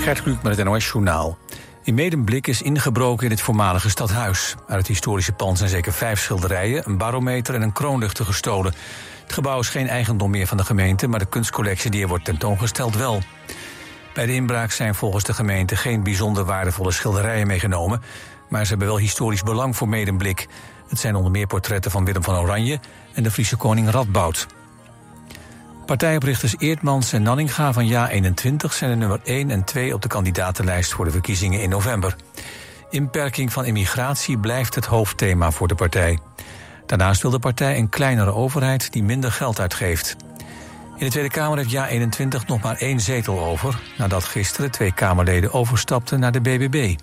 Gert Kluk met het NOS-journaal. In Medemblik is ingebroken in het voormalige stadhuis. Uit het historische pand zijn zeker 5 schilderijen, een barometer en een kroonluchter gestolen. Het gebouw is geen eigendom meer van de gemeente, maar de kunstcollectie die er wordt tentoongesteld wel. Bij de inbraak zijn volgens de gemeente geen bijzonder waardevolle schilderijen meegenomen, maar ze hebben wel historisch belang voor Medemblik. Het zijn onder meer portretten van Willem van Oranje en de Friese koning Radboud. Partijoprichters Eertmans en Nanninga van JA21 zijn de nummer 1 en 2 op de kandidatenlijst voor de verkiezingen in november. Inperking van immigratie blijft het hoofdthema voor de partij. Daarnaast wil de partij een kleinere overheid die minder geld uitgeeft. In de Tweede Kamer heeft JA21 nog maar 1 zetel over, nadat gisteren 2 Kamerleden overstapten naar de BBB.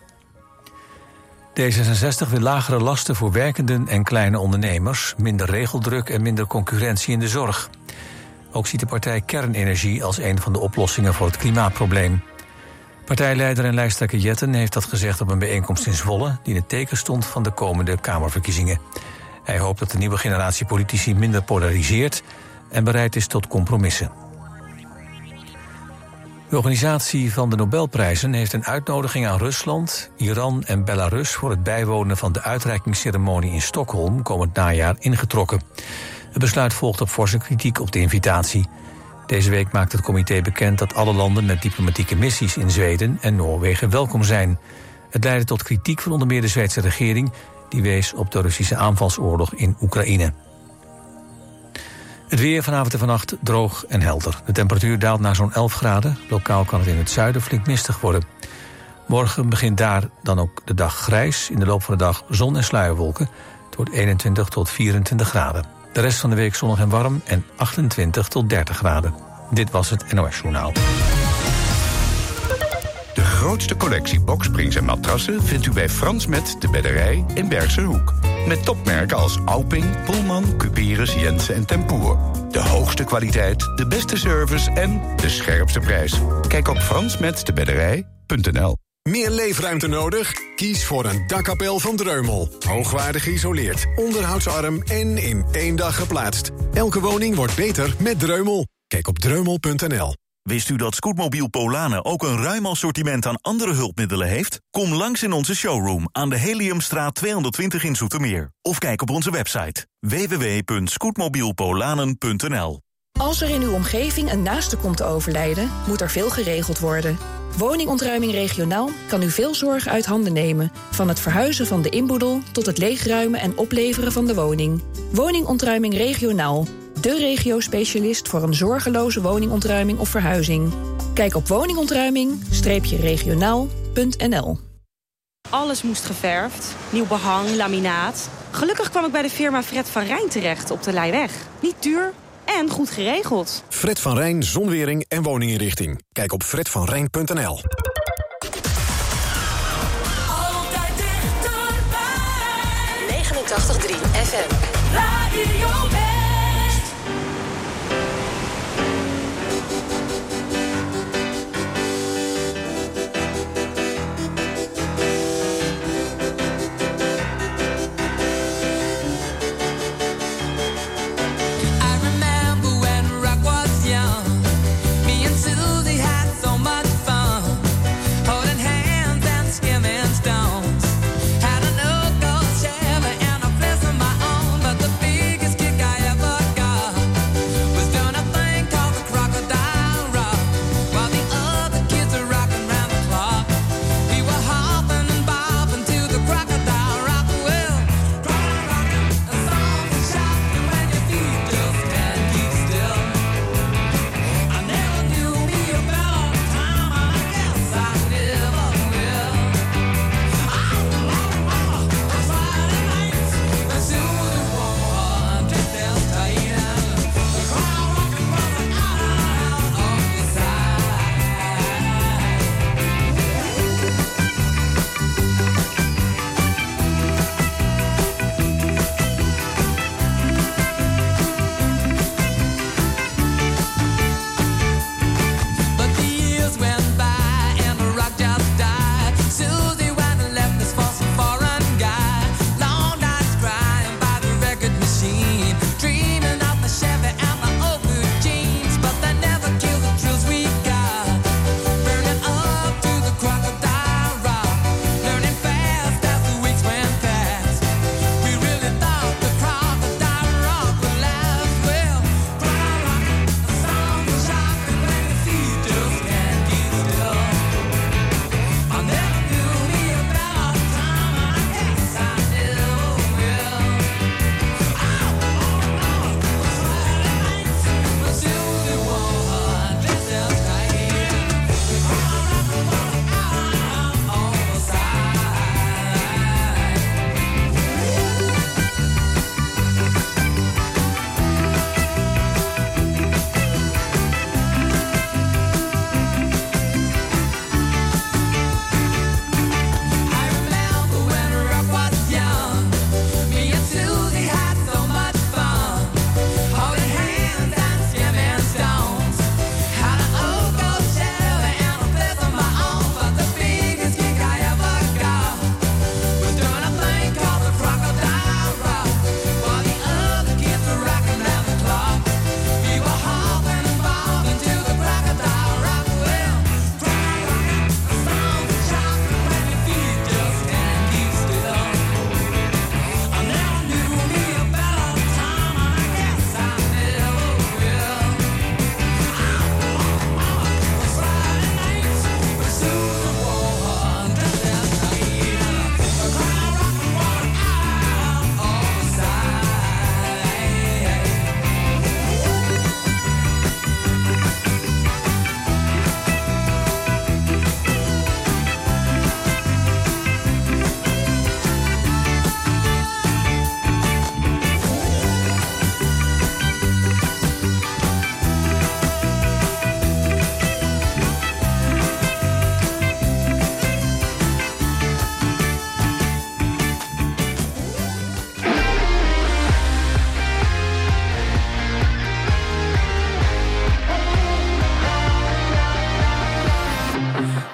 D66 wil lagere lasten voor werkenden en kleine ondernemers, minder regeldruk en minder concurrentie in de zorg. Ook ziet de partij kernenergie als een van de oplossingen voor het klimaatprobleem. Partijleider en lijsttrekker Jetten heeft dat gezegd op een bijeenkomst in Zwolle, die in het teken stond van de komende Kamerverkiezingen. Hij hoopt dat de nieuwe generatie politici minder polariseert en bereid is tot compromissen. De organisatie van de Nobelprijzen heeft een uitnodiging aan Rusland, Iran en Belarus voor het bijwonen van de uitreikingsceremonie in Stockholm komend najaar ingetrokken. Het besluit volgt op forse kritiek op de invitatie. Deze week maakt het comité bekend dat alle landen met diplomatieke missies in Zweden en Noorwegen welkom zijn. Het leidde tot kritiek van onder meer de Zweedse regering, die wees op de Russische aanvalsoorlog in Oekraïne. Het weer vanavond en vannacht droog en helder. De temperatuur daalt naar zo'n 11 graden. Lokaal kan het in het zuiden flink mistig worden. Morgen begint daar dan ook de dag grijs. In de loop van de dag zon en sluierwolken. Het wordt 21 tot 24 graden. De rest van de week zonnig en warm en 28 tot 30 graden. Dit was het NOS-journaal. De grootste collectie boksprings en matrassen vindt u bij Frans Met de Bedderij in Bergse Hoek. Met topmerken als Auping, Pullman, Cuperus, Jensen en Tempoer. De hoogste kwaliteit, de beste service en de scherpste prijs. Kijk op fransmetdebedderij.nl. Meer leefruimte nodig? Kies voor een dakkapel van Dreumel. Hoogwaardig geïsoleerd, onderhoudsarm en in 1 dag geplaatst. Elke woning wordt beter met Dreumel. Kijk op dreumel.nl. Wist u dat Scootmobiel Polanen ook een ruim assortiment aan andere hulpmiddelen heeft? Kom langs in onze showroom aan de Heliumstraat 220 in Zoetermeer. Of kijk op onze website www.scootmobielpolanen.nl. Als er in uw omgeving een naaste komt te overlijden, moet er veel geregeld worden. Woningontruiming regionaal kan u veel zorg uit handen nemen. Van het verhuizen van de inboedel tot het leegruimen en opleveren van de woning. Woningontruiming regionaal. De regio-specialist voor een zorgeloze woningontruiming of verhuizing. Kijk op woningontruiming-regionaal.nl. Alles moest geverfd. Nieuw behang, laminaat. Gelukkig kwam ik bij de firma Fred van Rijn terecht op de Leijweg. Niet duur en goed geregeld. Fred van Rijn, zonwering en woninginrichting. Kijk op fredvanrijn.nl. Altijd dichterbij. 89.3 FM. Radio West. Had a no-go Chevy and a place of my own, but the biggest kick I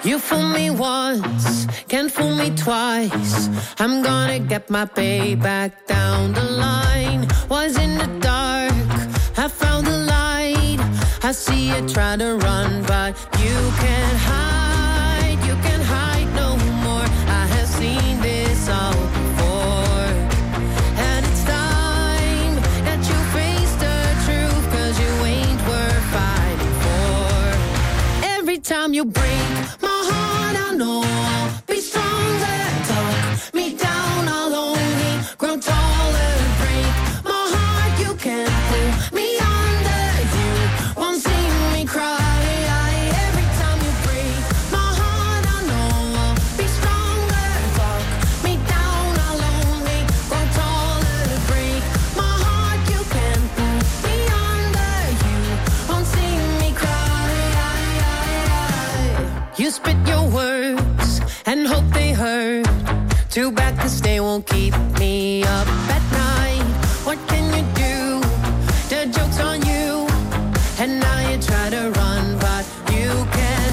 You fool me once, can't fool me twice. I'm gonna get my payback down the line. Was in the dark, I found the light. I see you try to run, but you can't hide no more. I have seen this all before. And it's time that you face the truth, 'cause you ain't worth fighting for. Every time you break my heart, I know I'll be stronger. Talk me down, I'll only grow taller. Break my heart, you can't pull me under. You won't see me cry. Every time you break my heart, I know I'll be stronger. Talk me down, I'll only grow taller. Break my heart, you can't pull me under. You won't see me cry. You spit your words and hope they hurt. Too bad 'cause they won't keep me up at night. What can you do? The joke's on you. And now you try to run, but you can't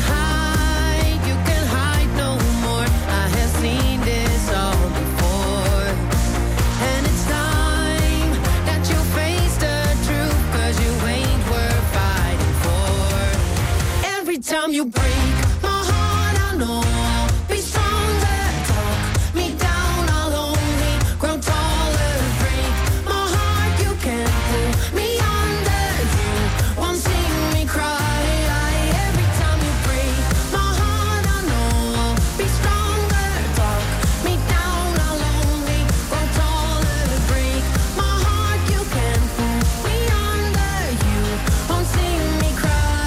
hide no more. I have seen this all before. And it's time that you face the truth, 'cause you ain't worth fighting for. Every time you break my heart, I know I'll be stronger. Talk me down, I'll only grow taller. Break my heart, you can't pull me under. You won't see me cry. Every time you break my heart, I know I'll be stronger. Talk me down, I'll only grow taller. Break my heart, you can't pull me under. You won't see me cry.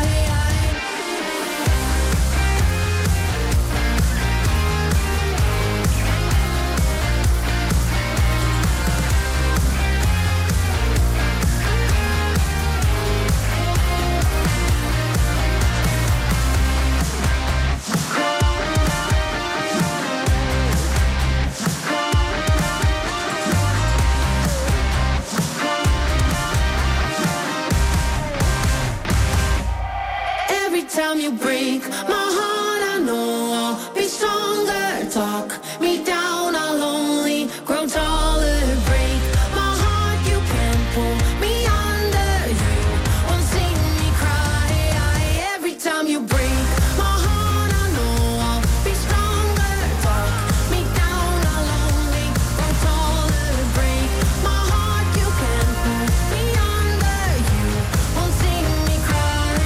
Every time you break my heart, I know I'll be stronger. Talk me down, I'll only grow taller. Break my heart, you can't pull me under. You won't see me cry. Every time you break my heart, I know I'll be stronger. Talk me down, I'll only grow taller. Break my heart, you can't pull me under. You won't see me cry.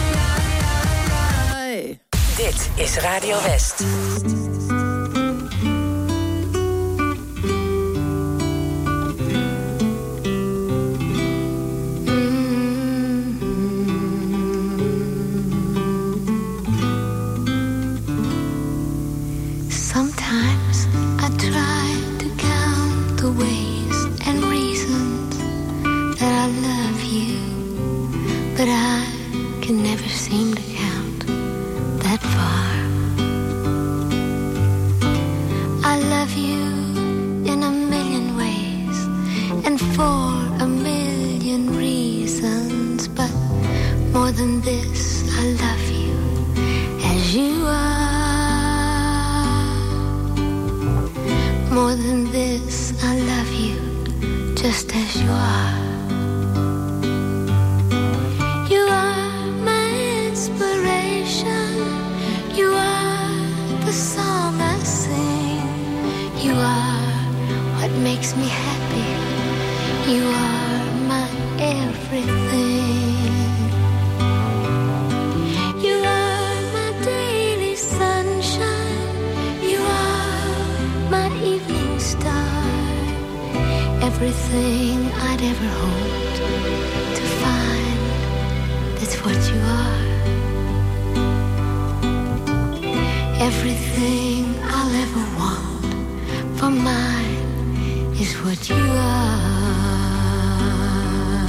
Dit is Radio West. Sometimes I try to count the ways and reasons that I love you, but I can never seem to count that far. I love you in a million ways and for a million reasons, but more than this, I love you as you are. More than this, I love you just as you are. You are my inspiration. You are the song I sing. You are what makes me happy. You are my everything. You are my daily sunshine. You are my evening star. Everything I'd ever hoped to find, that's what you are. Everything I'll ever want for mine is what you are.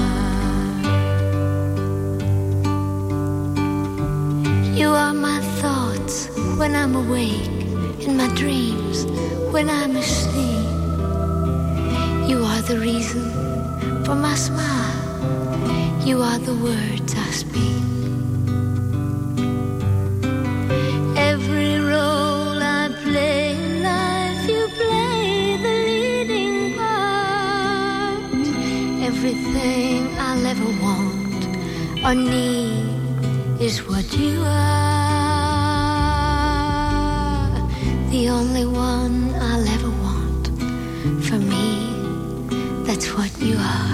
You are my thoughts when I'm awake, in my dreams when I'm asleep. You are the reason for my smile. You are the words I speak. Every road or need is what you are. The only one I'll ever want. For me, that's what you are.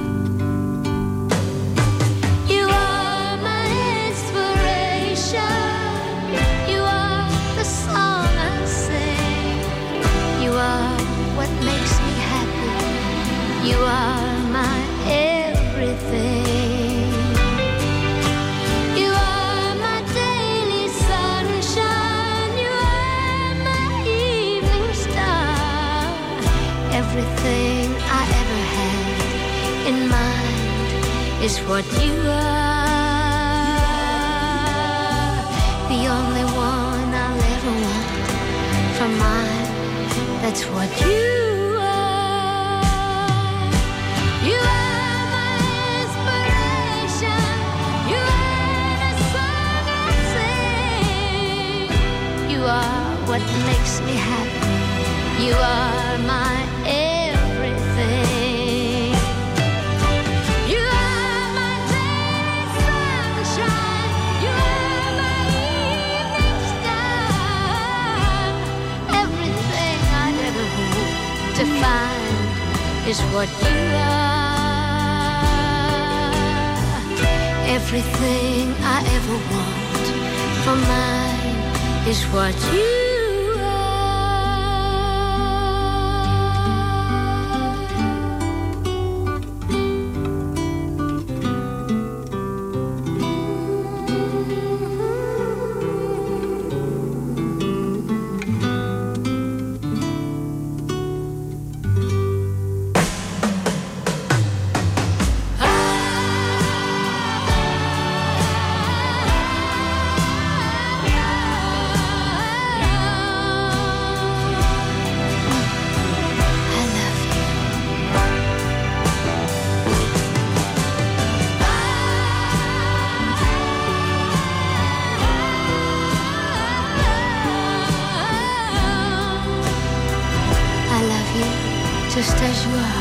You are my inspiration. You are the song I sing. You are what makes me happy. You are my everything. You are my daily sunshine. You are my evening star. Everything I ever had in mind is what you are. The only one I'll ever want for mine. That's what you are. You are my inspiration. You are the song I sing. You are what makes me happy. You are my everything. You are my daily sunshine. You are my evening star. Everything I'd ever hope to find is what you are. Everything I ever want for mine is what you are. Just as you are.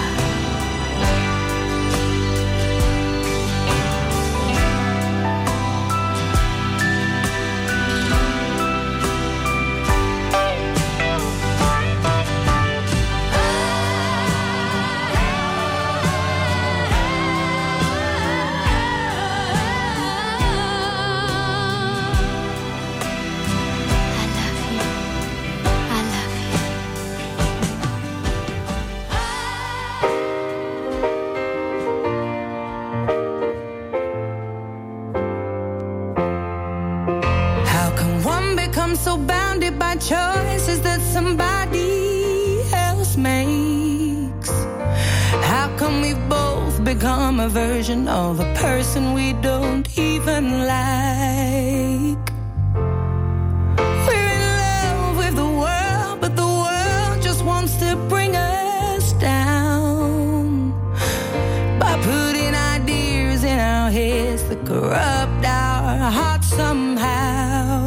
So bounded by choices that somebody else makes. How come we both become a version of a person we don't even like? We're in love with the world, but the world just wants to bring us down by putting ideas in our heads that corrupt our hearts somehow.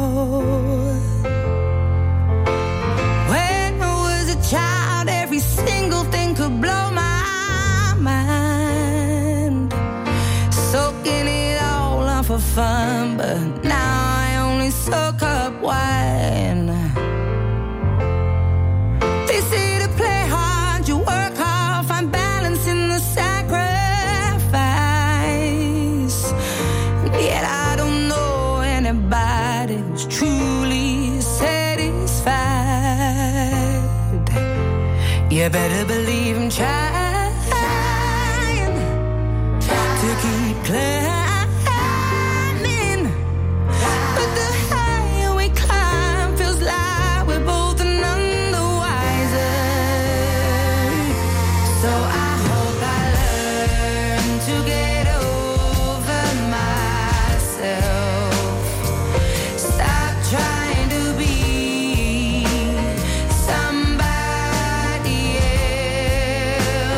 Child, every single thing could blow my mind. Soaking it all up for fun, but now I only soak up wine. They say to play hard, you work hard, find balance in the sacrifice. Yet I don't know anybody who's truly satisfied. You better believe I'm trying to keep climbing, but the higher we climb feels like we're both none the wiser. So I hope I learn to get over myself. Stop trying to be somebody else.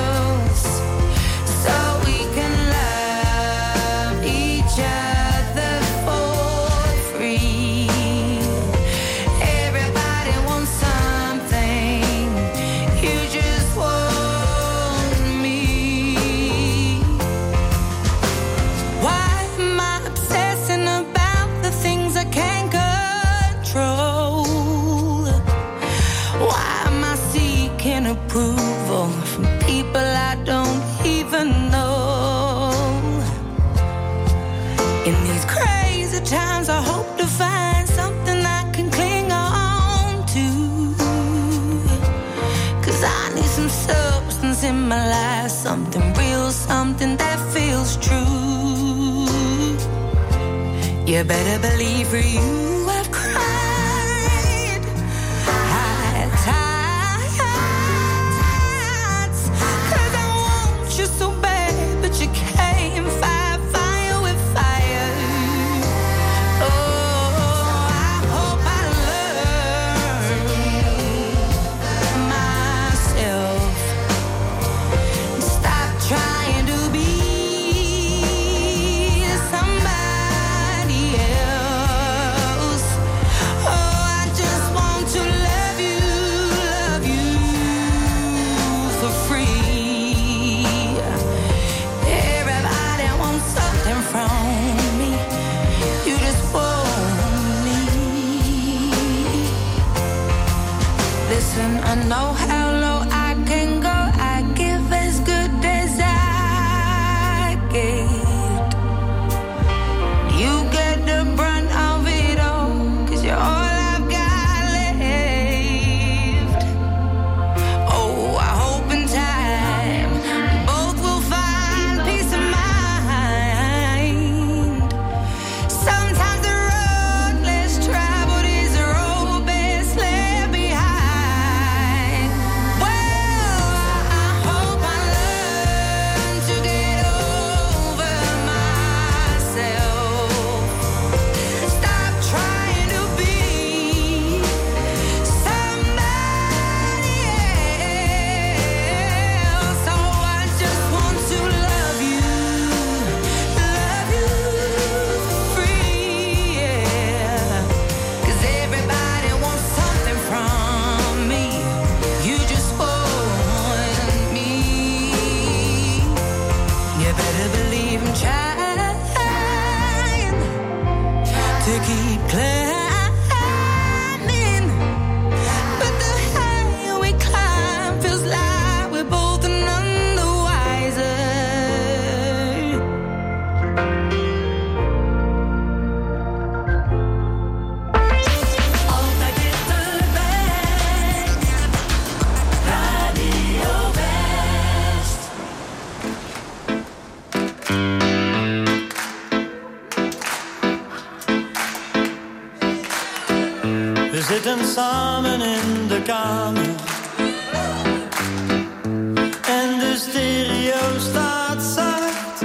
approval from people I don't even know. In these crazy times, I hope to find something I can cling on to. 'Cause I need some substance in my life, something real, something that feels true. You better believe for you I've cried, high tides, 'cause I want you so bad, but you can't fight fire with fire. Oh, I hope I learn myself and stop trying to be somebody else. Oh, I just want to love you for free. Everybody wants something from me. You just want me. Listen, I know how low I can go. I give as good as I get. You get the brunt of it all, 'cause you're all I've got left. Oh, I hope in time we both will find peace of mind. Sometimes the road less traveled is the road best left behind. Well, I hope I learn to get over myself. Stop trying to be somebody else. Oh, I just want to love you free, yeah. 'Cause everybody wants something from me. You just want me. You better believe I'm trying to keep climbing, but the higher we climb feels like we're both none the wiser. Altijd dichterbij. Radio West. We zitten samen in de kamer en de stereo staat zacht.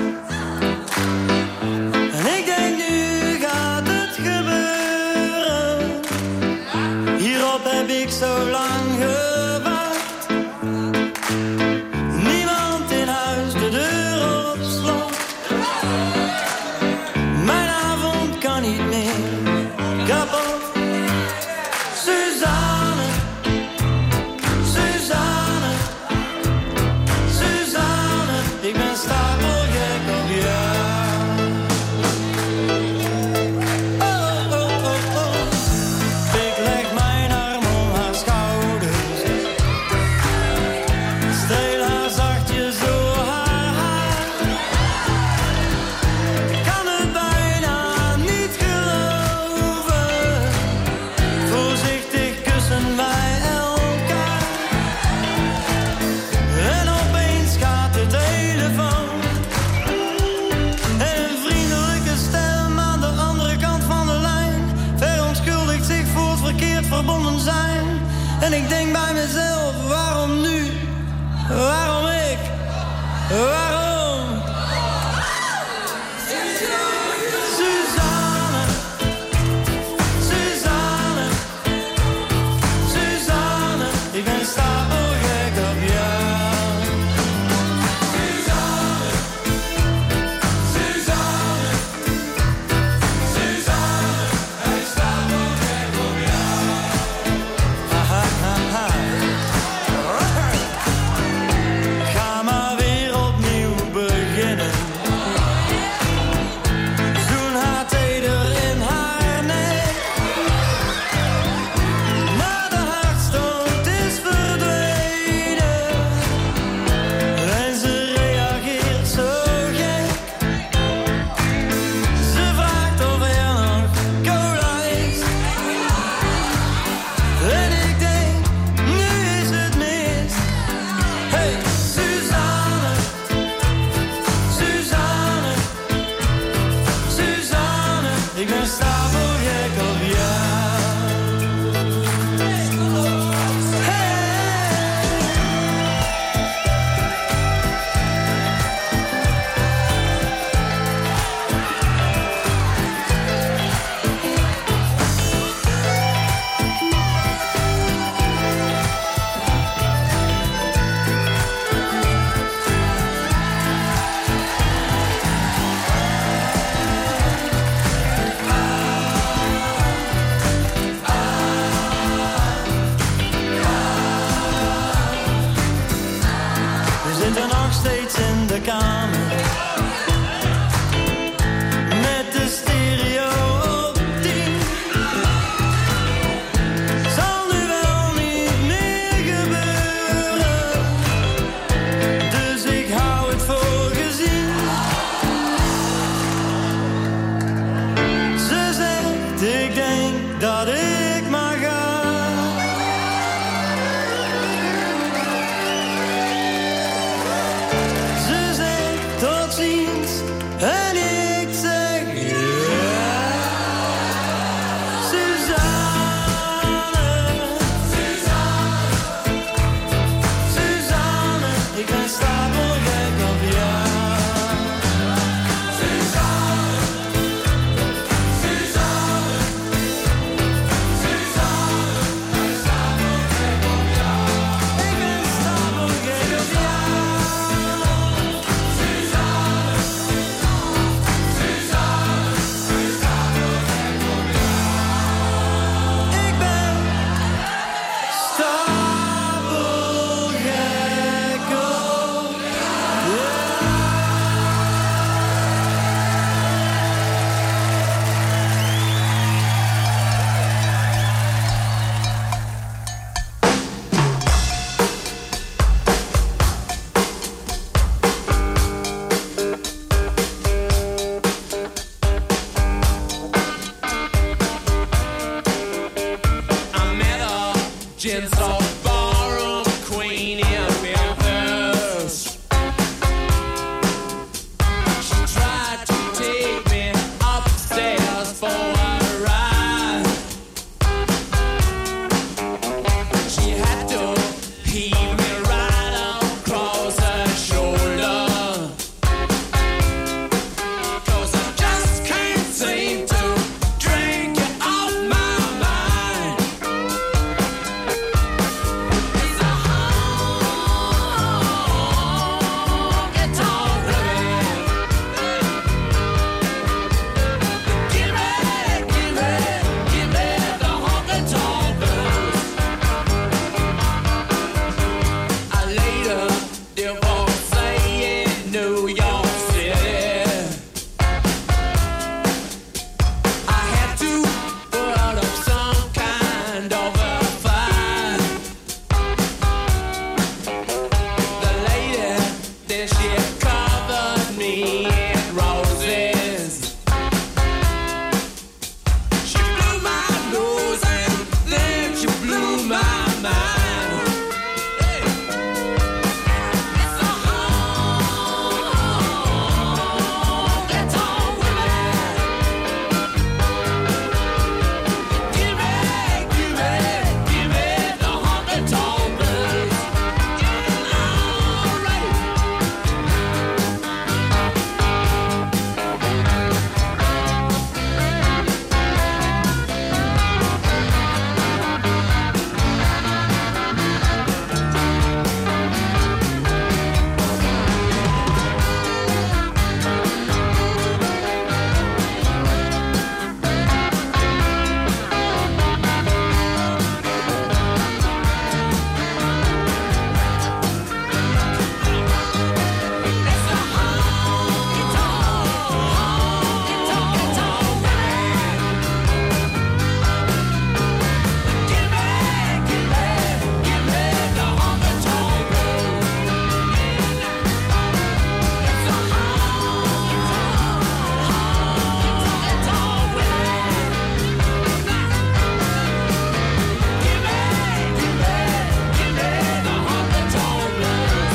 En ik denk, nu gaat het gebeuren. Hierop heb ik zo lang gewacht. Niemand in huis, de deur op slot. Mijn avond kan niet meer kapot. Suzanne, Suzanne, Suzanne, ik ben stapelgek op jou. Oh, oh, oh, oh. Ik leg mijn arm om haar schouders, streel haar zachtjes door haar haar. Ik kan het bijna niet geloven. Voorzichtig kussen wij elkaar. En opeens gaat de telefoon. En een vriendelijke stem aan de andere kant van de lijn verontschuldigt zich voor het verkeerd verbonden zijn. En ik denk bij mezelf, waarom nu? Waarom ik? Waarom? Suzanne, Suzanne, Suzanne, ik ben stapelgek op jou. Suzanne, Suzanne, Suzanne, hij is stapelgek op jou. Ha, ha, ha, ha. Ga maar weer opnieuw Gentle ballroom queen in Memphis. She tried to take me upstairs for a ride. She had to heave me right across her shoulder. 'Cause I just can't seem to drink it off my mind. It's a honky-tonk rhythm. Give me the honky-tonk blues. I later divorced in New York City. I had to put up some kind of a fight. The lady, then she covered me in roses. She blew my nose and then she blew my mind. It's a honky-tonk rhythm. Give me the honky-tonk blues. All right. It's a honky-tonk rhythm. Give me the honky-tonk blues. It's a honky-tonk rhythm. Give me the honky-tonk blues.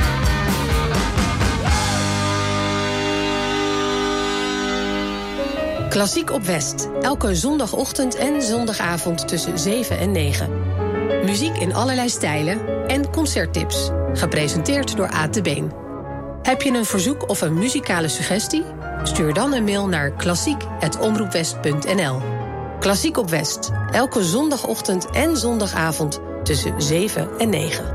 Klassiek op West. Elke zondagochtend en zondagavond tussen 7 en 9. Muziek in allerlei stijlen en concerttips. Gepresenteerd door Aad de Been. Heb je een verzoek of een muzikale suggestie? Stuur dan een mail naar klassiek@omroepwest.nl. Klassiek op West. Elke zondagochtend en zondagavond tussen 7 en 9.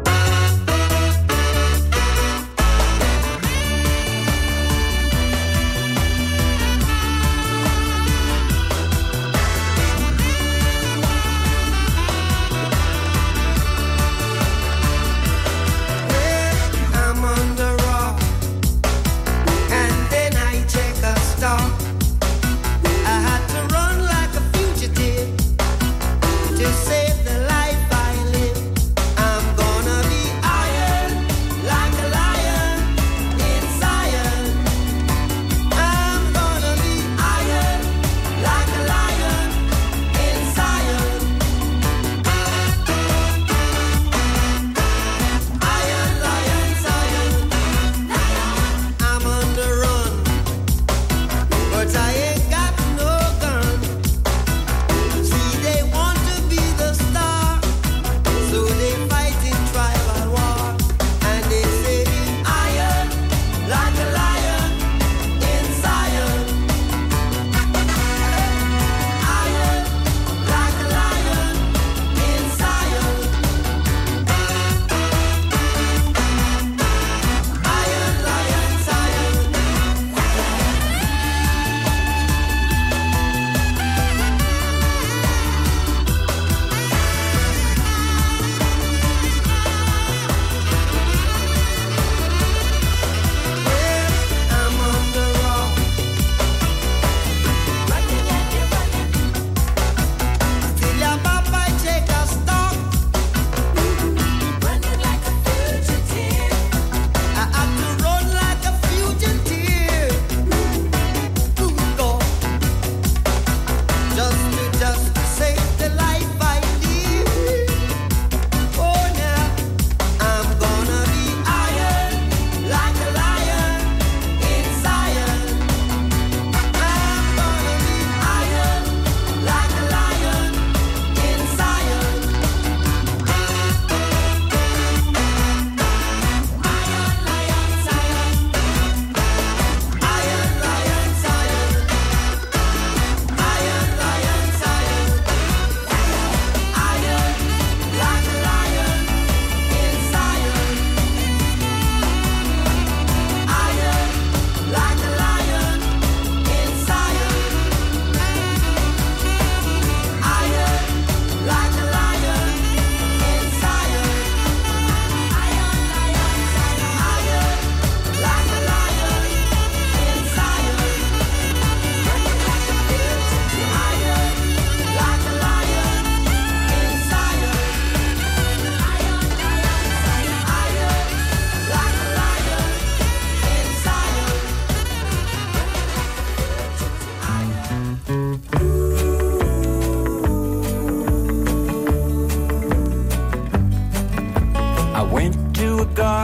I'm on the rock, and then I take a stop. I had to run like a fugitive to save the life I live. I'm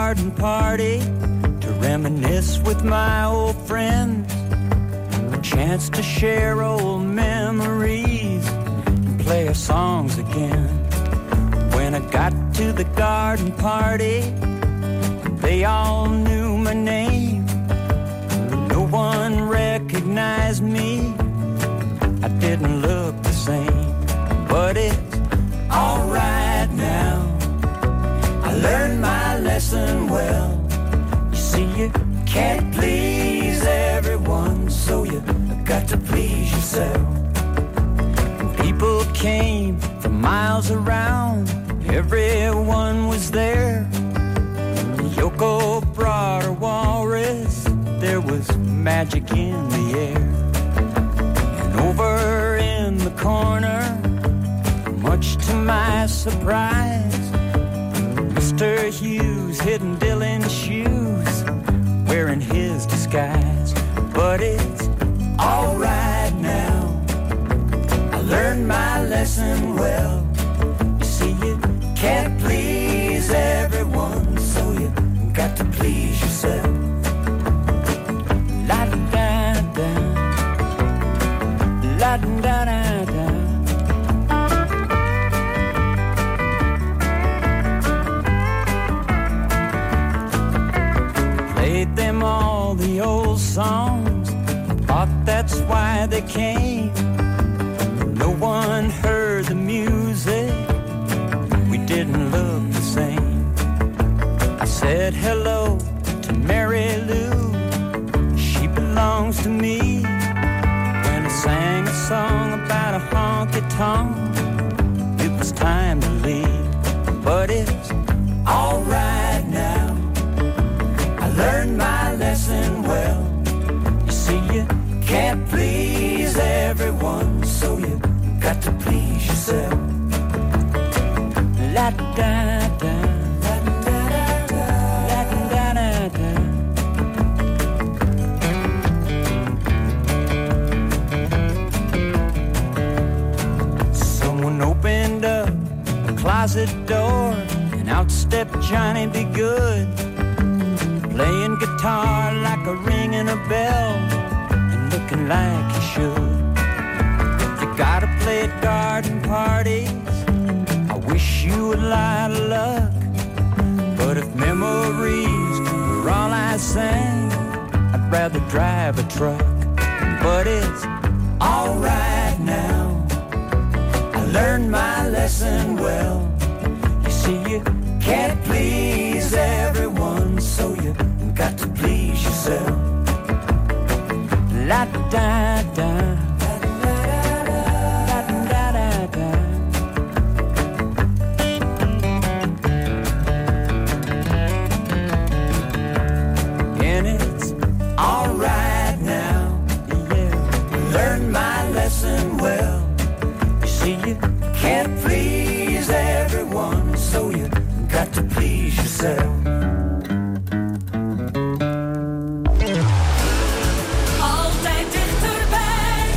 garden party to reminisce with my old friends. A chance to share old memories and play our songs again. When I got to the garden party, they all knew my name. No one recognized me. I didn't look the same, but it's alright now. I learned my lesson well. You see, you can't please everyone, so you got to please yourself. And people came from miles around, everyone was there. Yoko brought her walrus, there was magic in the air. And over in the corner, much to my surprise, Mr. Hughes hidden Dylan's shoes, wearing his disguise. But it's alright now, I learned my lesson well. You see, you can't please everyone, so you got to please yourself. La da da, la da da da. Played them all the old songs, thought that's why they came. No one heard the music, we didn't look the same. I said hello to Mary Lou, she belongs to me. When I sang a song about a honky-tonk, it was time to leave. But it's alright now, I learned my lesson well. You see, you can't please everyone, so you got to please yourself. La da da, la da da, la da da da. Someone opened up a closet door, and out stepped Johnny Be Good, playing guitar like a ringing a bell, and looking like he should. You gotta play at garden parties, I wish you a lot of luck. But if memories were all I sang, I'd rather drive a truck. But it's alright now, I learned my lesson well. You see, you can't please everyone, so you got to please yourself. La da da, la da da da. And it's alright now, yeah, learned my lesson well. You see, you can't please everyone, so you got to please yourself. Altijd dichterbij.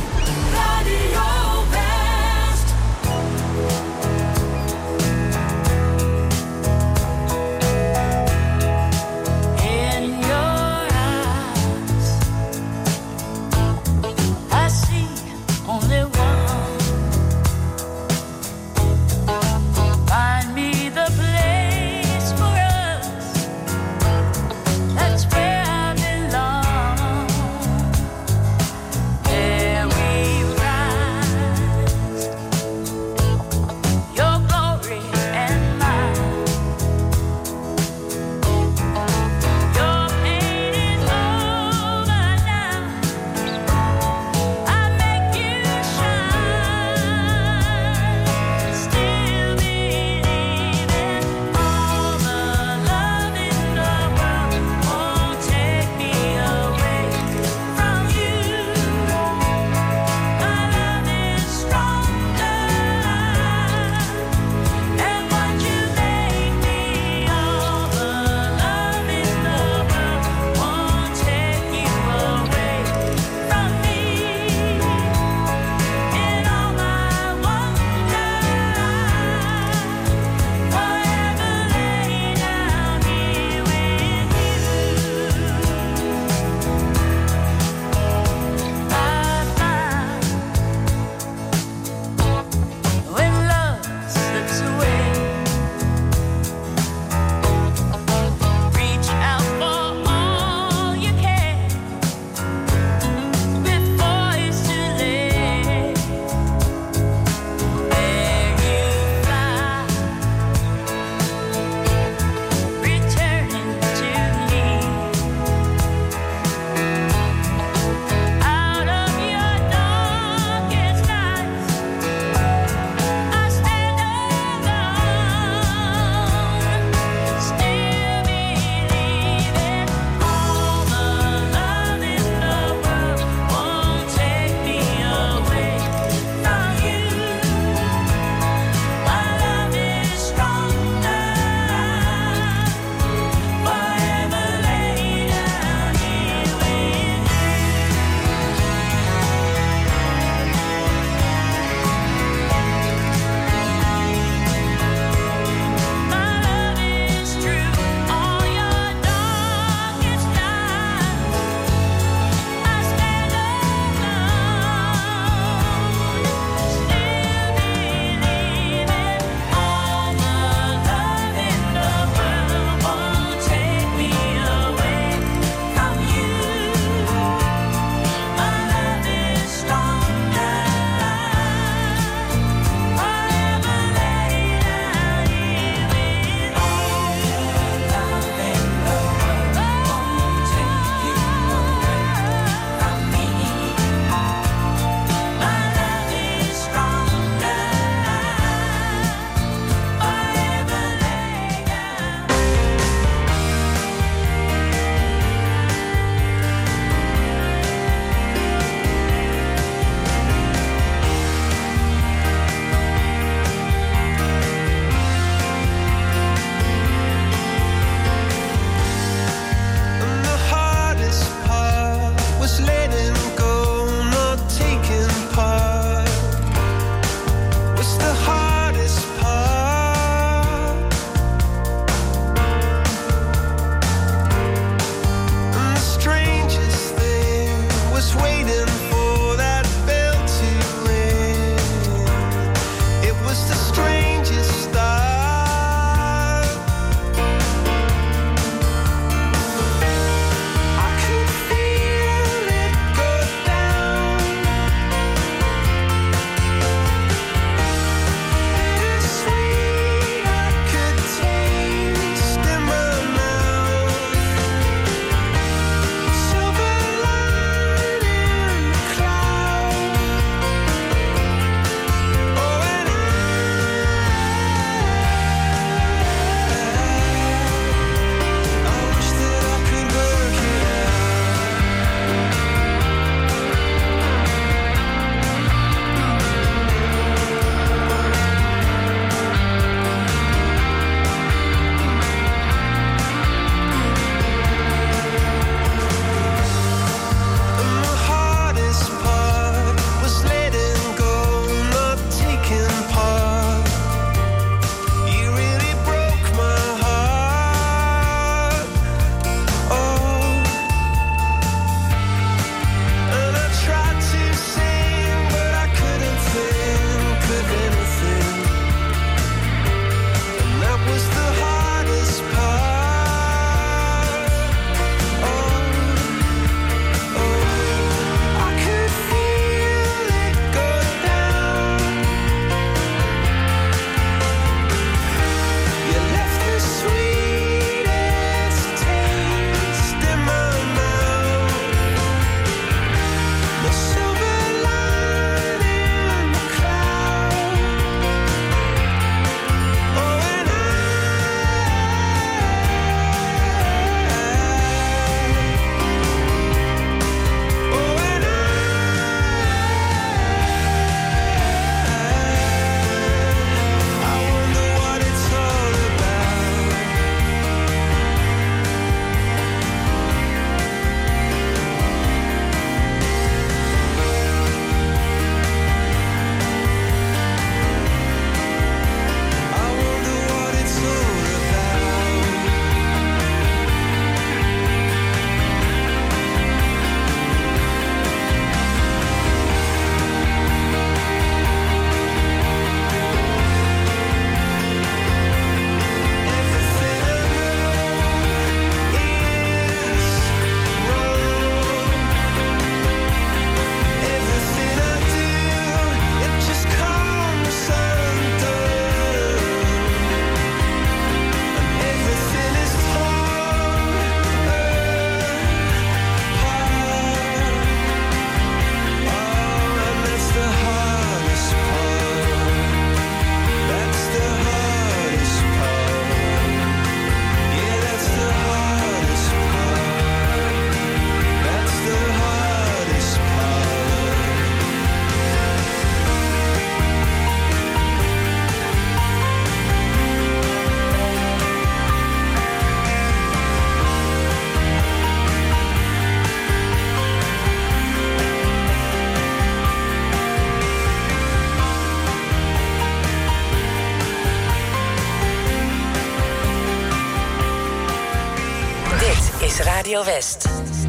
is Radio West.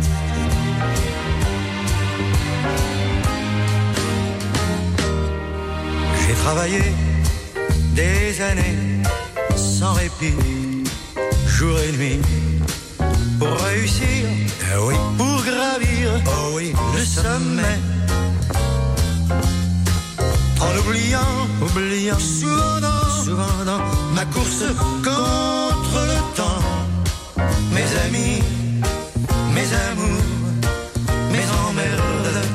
J'ai travaillé des années sans répit, jour et nuit, pour réussir, pour gravir le sommet. En oubliant souvent dans ma course contre le temps, mes amis, mes amours, mes emmerdes.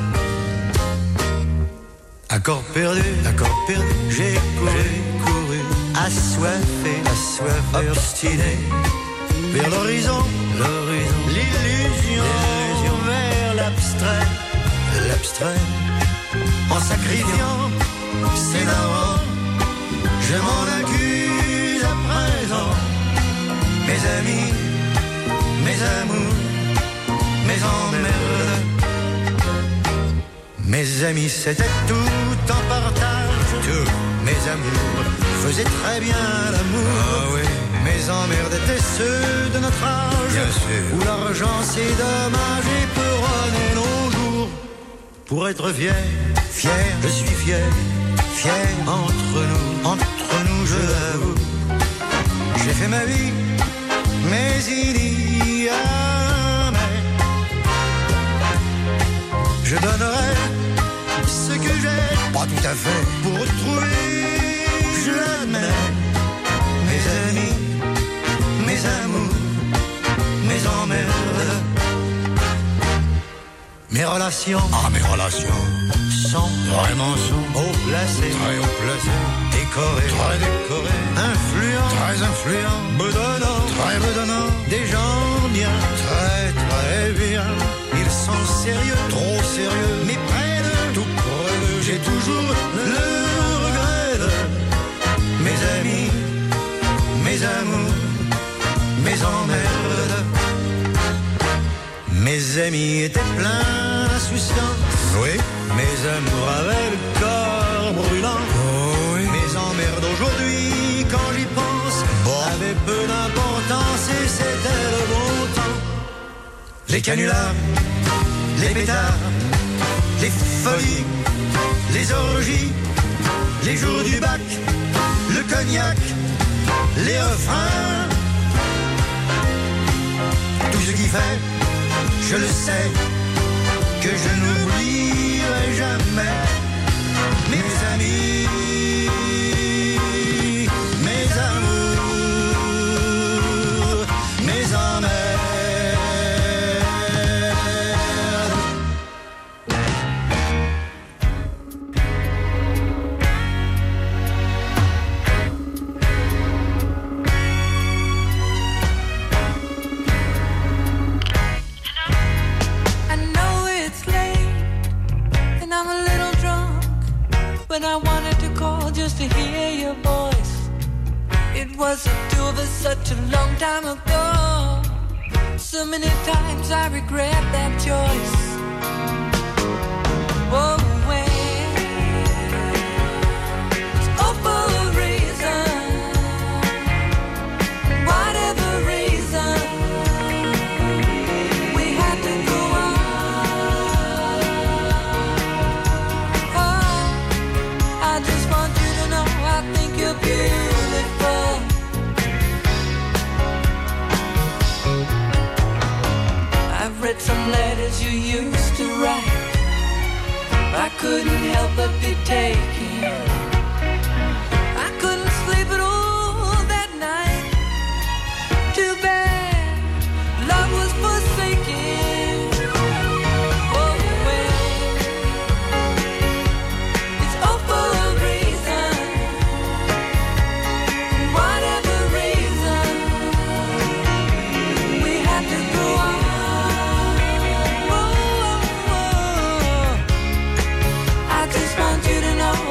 Accord perdu, j'ai couru, assoiffé, obstiné, vers l'horizon, l'illusion, vers l'abstrait, en sacrifiant ses darons, je m'en accuse à présent. Mes amis, mes amours, mes emmerdes. Mes amis, c'était tout en partage. Tout. Mes amours faisaient très bien l'amour. Mes emmerdes étaient ceux de notre âge, où l'argent c'est dommage et peut runner nos jours. Pour être fier, je suis fier entre nous, je l'avoue. J'ai fait ma vie, mais il y a je donnerai ce que j'ai, pas tout à fait, pour retrouver, je l'admets, mes amis, mes amours, mes emmerdes. Mes relations sont vraiment haut placées, très haut placées, décorées, très décorées, influents, très influents, bedonnants, des gens bien, très bien. Ils sont sérieux, trop sérieux, mais près de tout près d'eux, j'ai toujours le regret de mes amis, mes amours, mes emmerdes. Mes amis étaient pleins d'insouciance, mes amours avaient le corps brûlant, mes emmerdes aujourd'hui, quand j'y pense, avaient peu d'importance et c'était le bon temps. Les canulars, les pétards, les folies, les orgies, les jours du bac, le cognac, les refrains, tout ce qui fait, je le sais, que je n'oublierai jamais mes amis, mes amours, mes emmerdes. When I wanted to call just to hear your voice. It was the two of us such a long time ago. So many times I regret that choice. Oh, when it's all for a reason, whatever reason, we had to go on. I just want you to know I think you're beautiful. I've read some letters you used to write. I couldn't help but be taken. I couldn't sleep at all that night. Too bad love was forsaken. Oh, well, it's all for a reason. Whatever reason, we had to go on. I just want you to know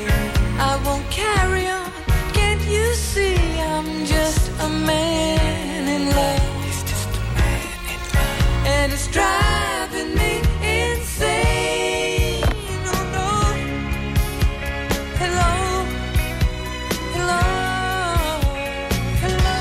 I won't carry on. Can't you see I'm just a man in love? And it's driving me insane. Oh no. Hello. Hello. Hello.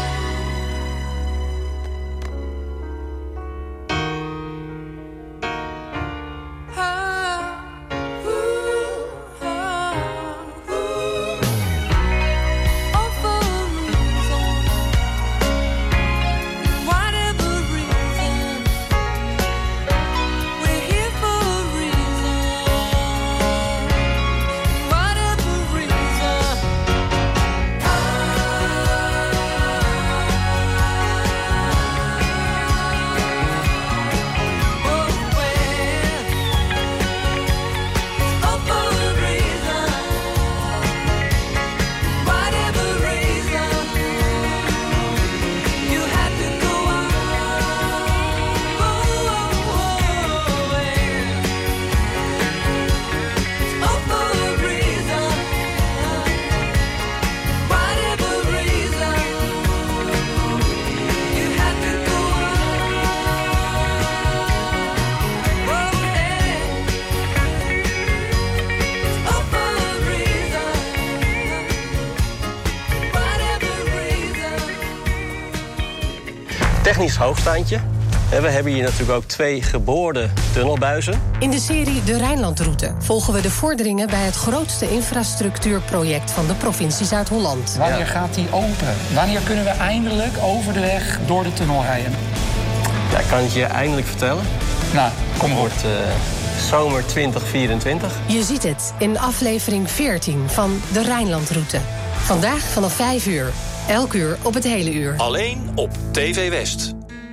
Technisch hoogstaandje. We hebben hier natuurlijk ook 2 geboorde tunnelbuizen. In de serie De Rijnlandroute volgen we de vorderingen bij het grootste infrastructuurproject van de provincie Zuid-Holland. Wanneer gaat die open? Wanneer kunnen we eindelijk over de weg door de tunnel rijden? Ja, ik kan het je eindelijk vertellen. Nou, kom maar. Het wordt zomer 2024. Je ziet het in aflevering 14 van De Rijnlandroute. Vandaag vanaf 5 uur. Elk uur op het hele uur. Alleen op TV West.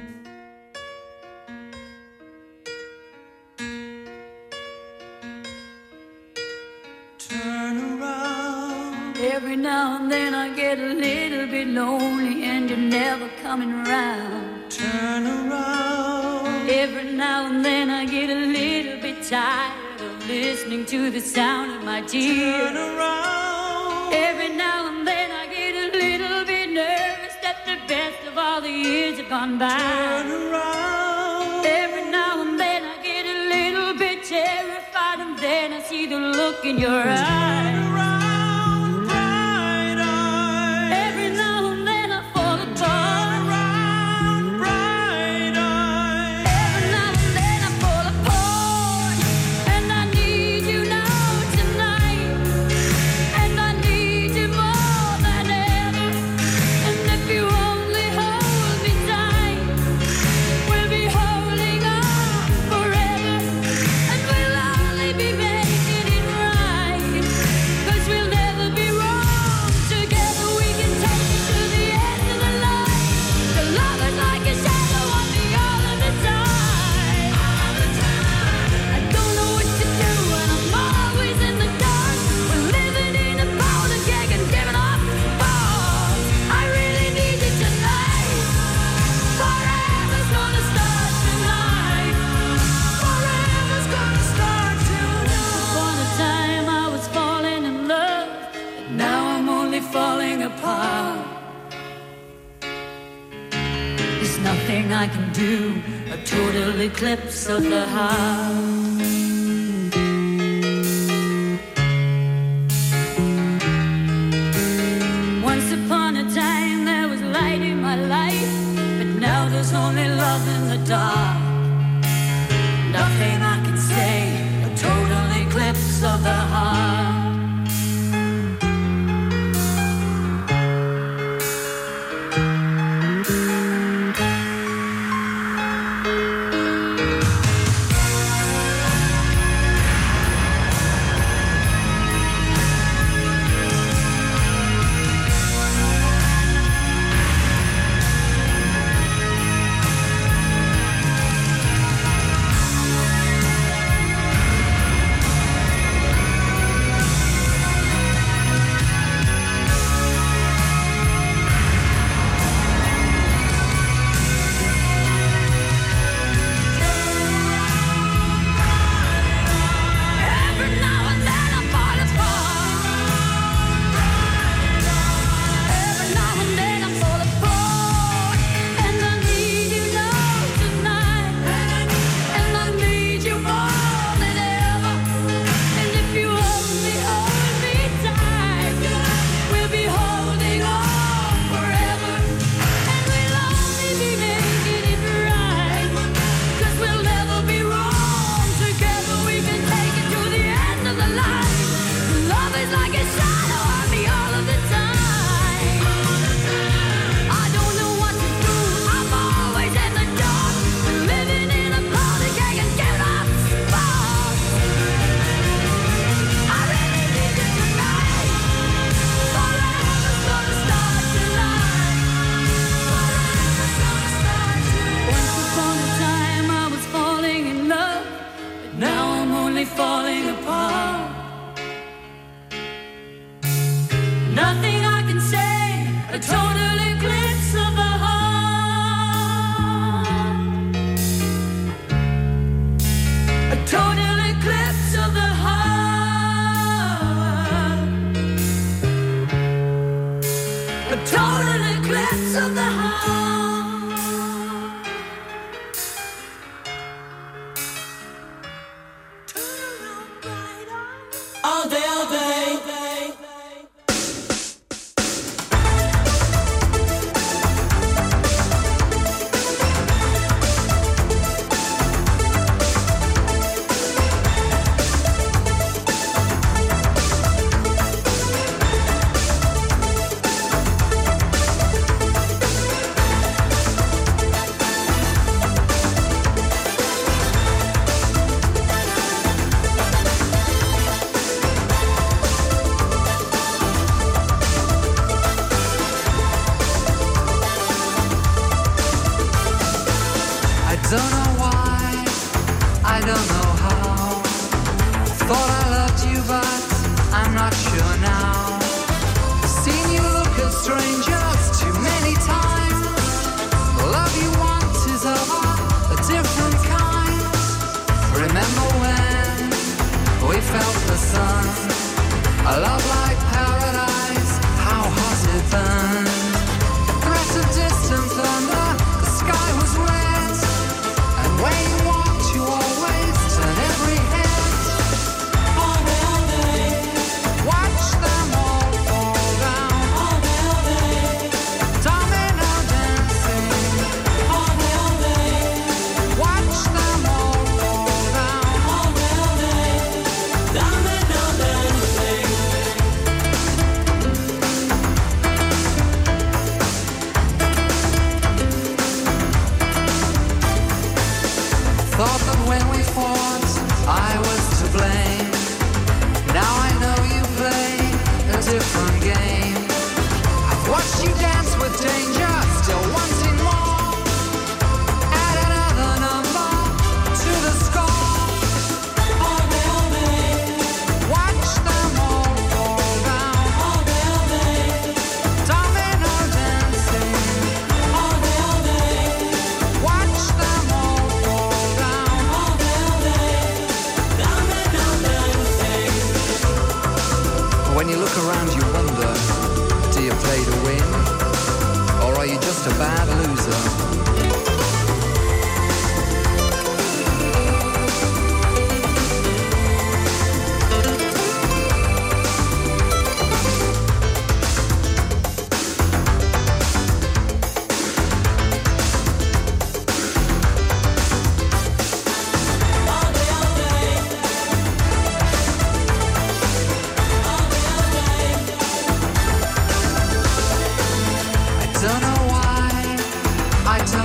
Every now and then I get a little bit lonely and you're never coming around. Turn around. Every now and then I get a little bit tired of listening to the sound of my tears. Turn around. Every now and then I get a little bit nervous that the best of all the years have gone by. Turn around. Every now and then I get a little bit terrified and then I see the look in your eyes. I can do a total eclipse of the heart. Once upon a time there was light in my life, but now there's only love in the dark. Nothing I can say, a total eclipse of the heart. always like a shadow on me all of the time. I don't know what to do, I'm always in the dark, living in a party cake and giving up sparks. I really need you tonight, forever's gonna start tonight. Forever's gonna start tonight. Once upon a time I was falling in love, but now I'm only falling apart. Nothing I can say, a total eclipse of the heart. A total eclipse of the heart. A total eclipse of the heart. All day, all day. I don't know why, I don't know how. Thought I loved you, but I'm not sure now. Seen you look at strangers too many times. The love you want is of a different kind. Remember when we felt the sun? A love like paradise, how hot it burned. Threat of distant thunder, the sky was red. And when you walked, you always turn every head. All day, all day. Watch them all fall down. All day, all day. Domino dancing. All day, all day. Watch them all fall down. All day, all day. Domino dancing. Thought that when we fought, I was to blame. Now I know you play a different game. I've watched you dance with danger, still wanting more. Add another number to the score. All day, all day. Watch them all fall down. All day, all day. Domino dancing. All day, all day. Watch them all fall down. All day, all day. Domino dancing. When you look around, you wonder, do you play to win? Or are you just a bad loser? All day, all day. All day, all day. I don't know why, I don't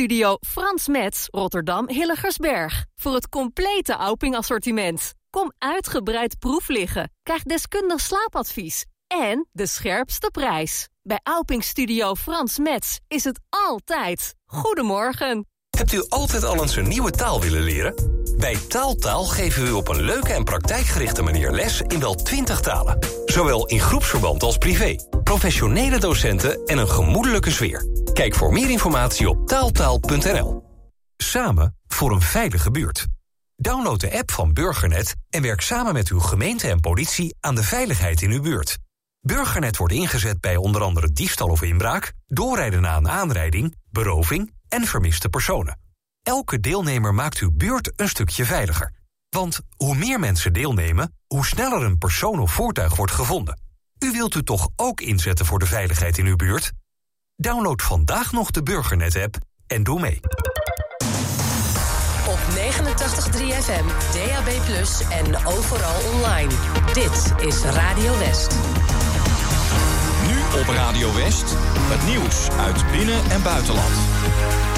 Studio Frans Metz, Rotterdam Hillegersberg. Voor het complete Auping-assortiment. Kom uitgebreid proef liggen. Krijg deskundig slaapadvies. En de scherpste prijs. Bij Auping Studio Frans Metz is het altijd. Goedemorgen. Hebt u altijd al eens een nieuwe taal willen leren? Bij Taaltaal geven we u op een leuke en praktijkgerichte manier les in wel 20 talen. Zowel in groepsverband als privé. Professionele docenten en een gemoedelijke sfeer. Kijk voor meer informatie op taaltaal.nl. Samen voor een veilige buurt. Download de app van Burgernet en werk samen met uw gemeente en politie aan de veiligheid in uw buurt. Burgernet wordt ingezet bij onder andere diefstal of inbraak, doorrijden na een aanrijding, beroving en vermiste personen. Elke deelnemer maakt uw buurt een stukje veiliger. Want hoe meer mensen deelnemen, hoe sneller een persoon of voertuig wordt gevonden. U wilt u toch ook inzetten voor de veiligheid in uw buurt? Download vandaag nog de Burgernet-app en doe mee. Op 89.3 FM, DAB+ en overal online. Dit is Radio West. Nu op Radio West, het nieuws uit binnen- en buitenland.